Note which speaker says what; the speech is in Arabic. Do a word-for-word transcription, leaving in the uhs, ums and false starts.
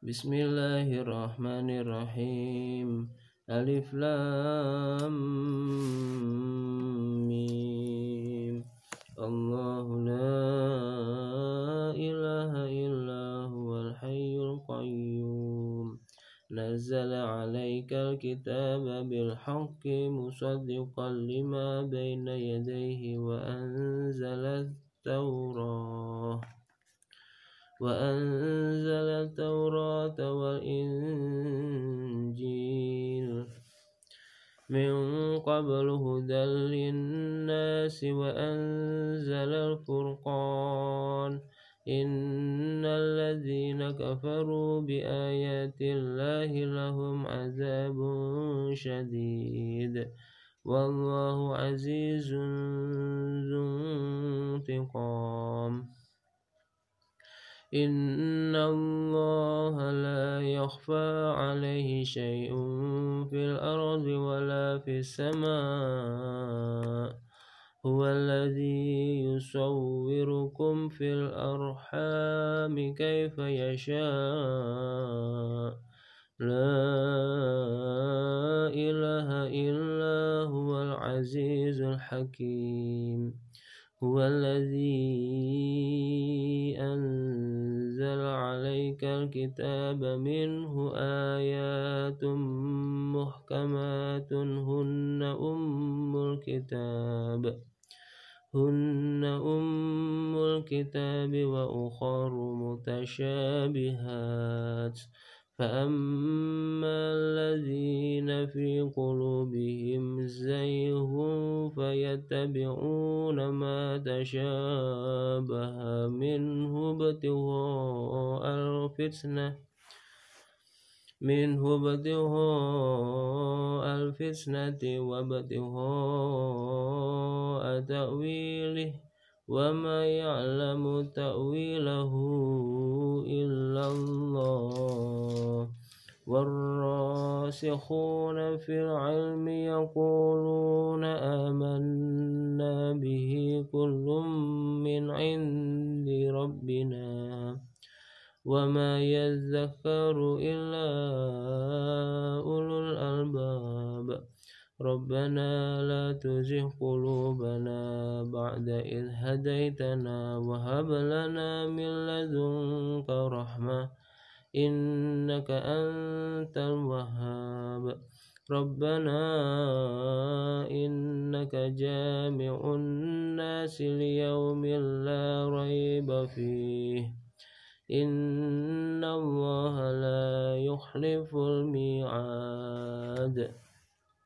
Speaker 1: Bismillahirrahmanirrahim. Alif Lam Mim. Allahu la ilaha illa huwal hayyul qayyum. Nazzala 'alaikal kitaba bil haqqi musaddiqan lima baina yadayhi wa anzala at-taurah وأنزل التوراة والإنجيل من قبل هدى للناس وأنزل الفرقان إن الذين كفروا بآيات الله لهم عذاب شديد والله عزيز ذو انتقام إن الله لا يخفى عليه شيء في الأرض ولا في السماء هو الذي يصوركم في الأرحام كيف يشاء لا إله إلا هو العزيز الحكيم هو الذي أنزل عليك الكتاب منه آيات محكمات هن أم الكتاب هن أم الكتاب وأخر متشابهات فأما الذين في قلوبهم زيغ فيتبعون ما تشابه منه ابتغاء الفتنة منه ابتغاء الفتنة وابتغاء تأويله وما يعلم تأويله إلا الله والراسخون في العلم يقولون آمنا به كل من عند ربنا وما يذكر إلا أولو الألباب ربنا لا تزغ قلوبنا بعد إذ هديتنا وهب لنا من لدنك رحمة إنك أنت الوهاب ربنا إنك جامع الناس ليوم لا ريب فيه إن الله لا يخلف الميعاد.